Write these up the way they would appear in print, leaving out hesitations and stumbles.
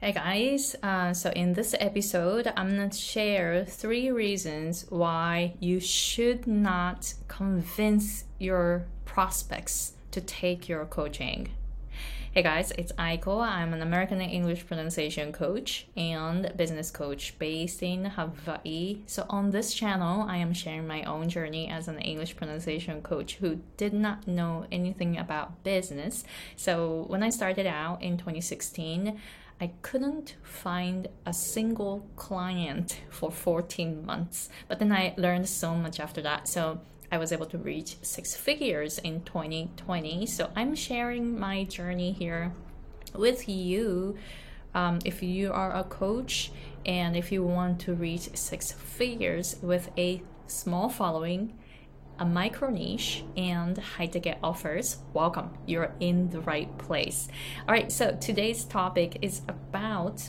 Hey guys, so in this episode, I'm going to share 3 reasons why you should not convince your prospects to take your coaching. Hey guys, it's Aiko. I'm an American English pronunciation coach and business coach based in Hawaii. So on this channel, I am sharing my own journey as an English pronunciation coach who did not know anything about business. So when I started out in 2016, I couldn't find a single client for 14 months, but then I learned so much after that. So I was able to reach 6 figures in 2020. So I'm sharing my journey here with you. If you are a coach and if you want to reach 6 figures with a small following, a micro niche, and high ticket offers, welcome. You're in the right place. All right, so today's topic is about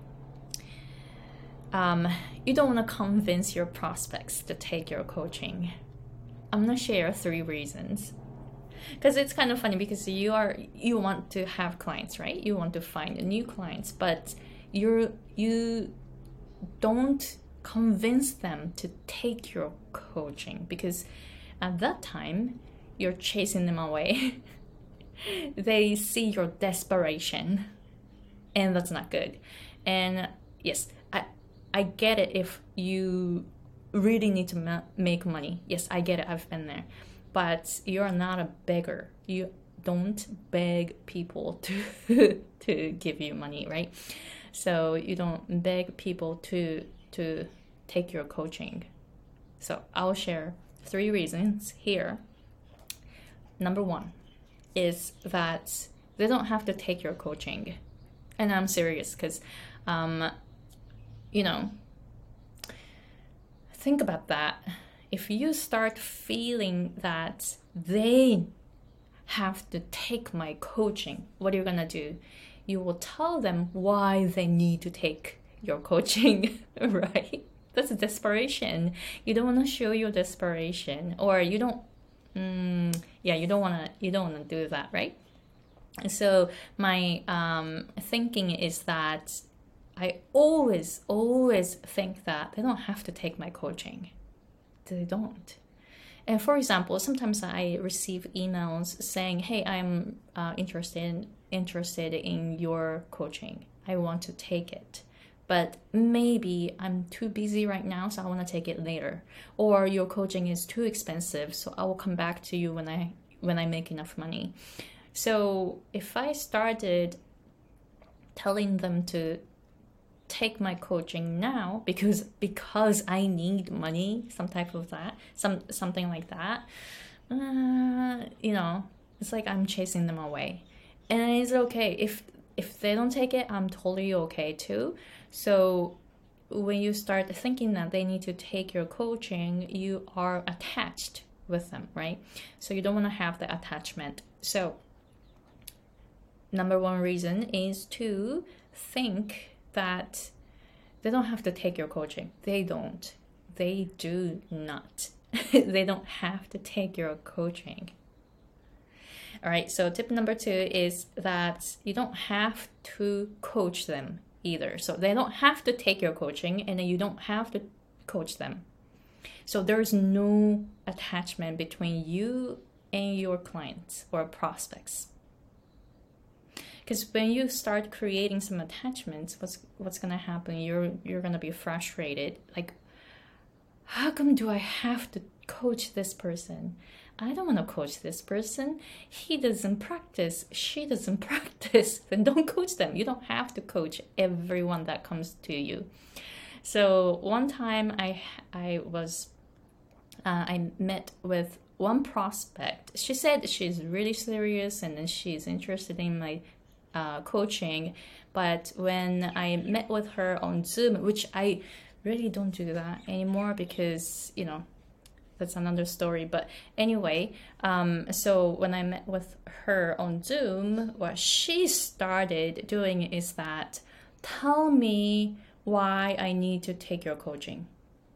you don't want to convince your prospects to take your coaching. I'm gonna share 3 reasons because it's kind of funny because you want to have clients, right? You want to find new clients, but you don't convince them to take your coaching because at that time you're chasing them away. They see your desperation, and that's not good. And yes, I get it if you really need to make money. Yes, I get it. I've been there. But you're not a beggar. You don't beg people to give you money, right? So you don't beg people to take your coaching. So I'll share 3 reasons here. Number 1 is that they don't have to take your coaching. And I'm serious because, think about that. If you start feeling that they have to take my coaching, what are you gonna do? You will tell them why they need to take your coaching, right? That's desperation. You don't want to show your desperation, or you don't. You don't want to do that, right? So my thinking is that I always think that they don't have to take my coaching. They don't. And for example, sometimes I receive emails saying, "Hey, I'm interested in your coaching. I want to take it, but maybe I'm too busy right now, so I want to take it later. Or your coaching is too expensive, so I will come back to you when I make enough money." So if I started telling them to take my coaching now because I need money, something like that, it's like I'm chasing them away. And it's okay if they don't take it. I'm totally okay too. So when you start thinking that they need to take your coaching, you are attached with them, right? So you don't want to have the attachment. So number 1 reason is to think that they don't have to take your coaching. They don't. They do not. They don't have to take your coaching. All right, so tip number 2 is that you don't have to coach them either. So they don't have to take your coaching, and you don't have to coach them. So there's no attachment between you and your clients or prospects. Because when you start creating some attachments, what's gonna happen? You're gonna be frustrated. Like, how come do I have to coach this person? I don't want to coach this person. He doesn't practice. She doesn't practice. Then don't coach them. You don't have to coach everyone that comes to you. So one time I met with one prospect. She said she's really serious and she's interested in my coaching, but when I met with her on Zoom, which I really don't do that anymore because that's another story, but anyway, so when I met with her on Zoom, what she started doing is that, tell me why I need to take your coaching.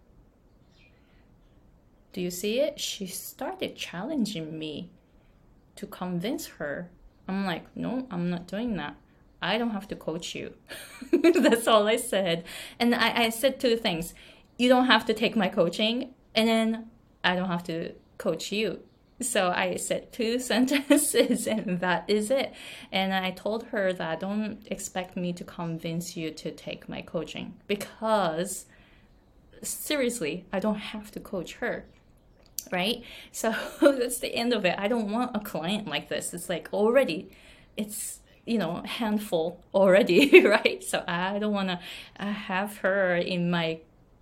Do you see it? She started challenging me to convince her. I'm like, no, I'm not doing that. I don't have to coach you. That's all I said. And I said two things. You don't have to take my coaching, and then I don't have to coach you. So I said two sentences, and that is it. And I told her that don't expect me to convince you to take my coaching, because seriously, I don't have to coach her. Right? So that's the end of it. I don't want a client like this. It's like already, it's, handful already, right? So I don't want to have her in my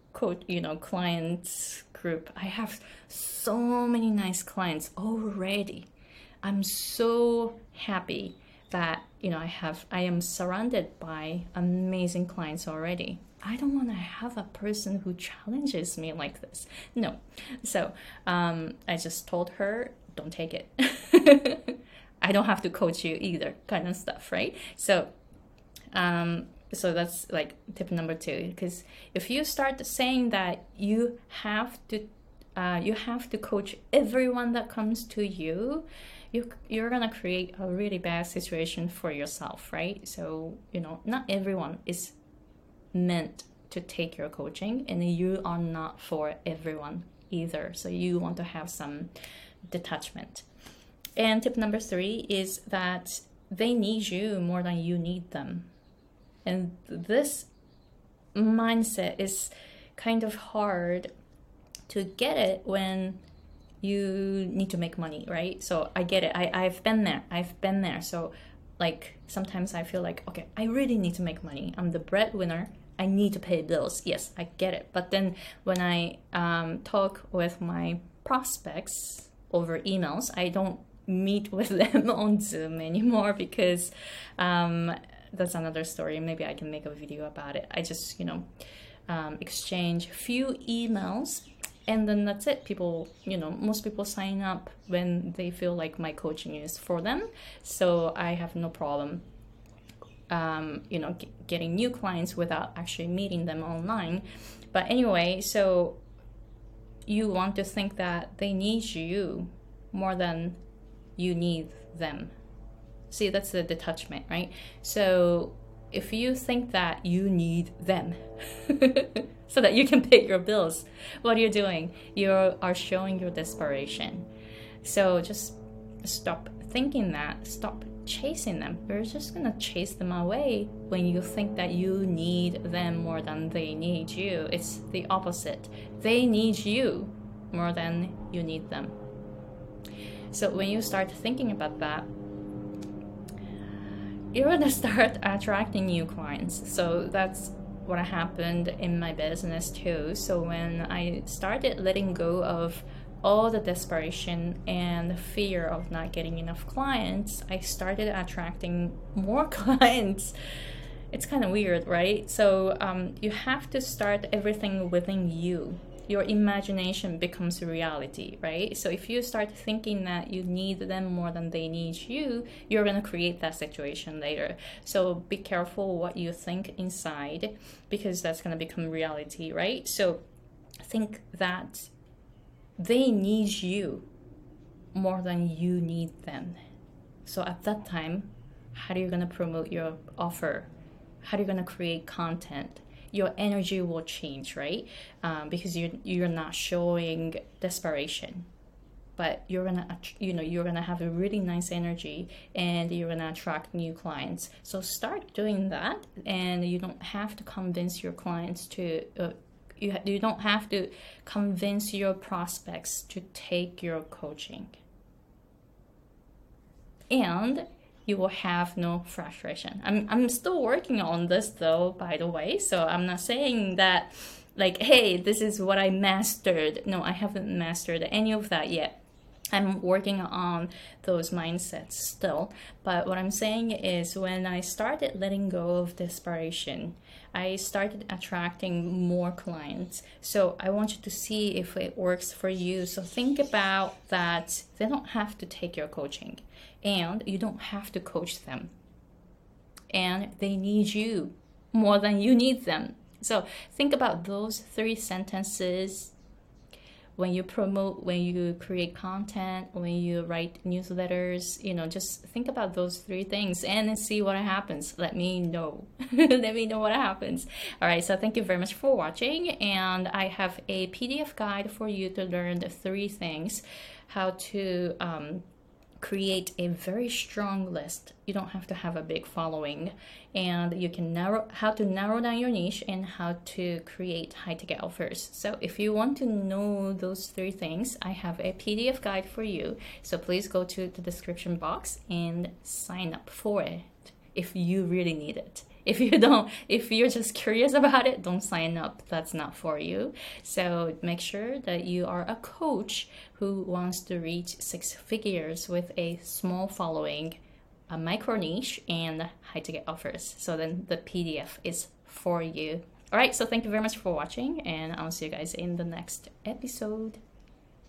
clients group. I have so many nice clients already. I'm so happy that, I am surrounded by amazing clients already. I don't want to have a person who challenges me like this. No. So I just told her, don't take it. I don't have to coach you either, kind of stuff, right? So that's like tip number 2. Because if you start saying that you have to coach everyone that comes to you, you're gonna create a really bad situation for yourself, right? So not everyone is meant to take your coaching, and you are not for everyone either. So you want to have some detachment. And tip number 3 is that they need you more than you need them. And this mindset is kind of hard to get it when you need to make money, right? So I get it. I've been there. So like sometimes I feel like, okay, I really need to make money. I'm the breadwinner. I need to pay bills. Yes, I get it. But then when I talk with my prospects over emails, I don't meet with them on Zoom anymore, because that's another story. Maybe I can make a video about it. I just, exchange few emails, and then that's it. People, most people sign up when they feel like my coaching is for them. So I have no problem getting new clients without actually meeting them online. But anyway, so you want to think that they need you more than you need them. See, that's the detachment, right? So if you think that you need them so that you can pay your bills, what are you doing? You are showing your desperation. So just stop thinking that. Stop chasing them. You're just gonna chase them away when you think that you need them more than they need you. It's the opposite. They need you more than you need them. So when you start thinking about that, you're gonna start attracting new clients. So that's what happened in my business too. So when I started letting go of all the desperation and fear of not getting enough clients, I started attracting more clients. It's kind of weird, right? So you have to start everything within you. Your imagination becomes reality, right? So if you start thinking that you need them more than they need you, you're going to create that situation later. So be careful what you think inside, because that's going to become reality, right? So think that they need you more than you need them. So at that time, how are you going to promote your offer? How are you going to create content? Your energy will change, right? Because you're not showing desperation, but you're gonna have a really nice energy, and you're gonna attract new clients. So start doing that, and you don't have to convince your clients to. You don't have to convince your prospects to take your coaching, and you will have no frustration. I'm still working on this though, by the way. So I'm not saying that like, hey, this is what I mastered. No, I haven't mastered any of that yet. I'm working on those mindsets still. But what I'm saying is, when I started letting go of desperation, I started attracting more clients. So I want you to see if it works for you. So think about that. They don't have to take your coaching, and you don't have to coach them. And they need you more than you need them. So think about those 3 sentences. when you promote, when you create content, when you write newsletters, just think about those three things and see what happens. Let me know. Let me know what happens. All right, so thank you very much for watching. And I have a PDF guide for you to learn the three things, how to create a very strong list. You don't have to have a big following, and you can how to narrow down your niche and how to create high ticket offers. So if you want to know those three things, I have a PDF guide for you. So please go to the description box and sign up for it if you really need it. If you don't, if you're just curious about it, don't sign up. That's not for you. So make sure that you are a coach who wants to reach 6 figures with a small following, a micro niche, and high ticket offers. So then the PDF is for you. All right, so thank you very much for watching, and I'll see you guys in the next episode.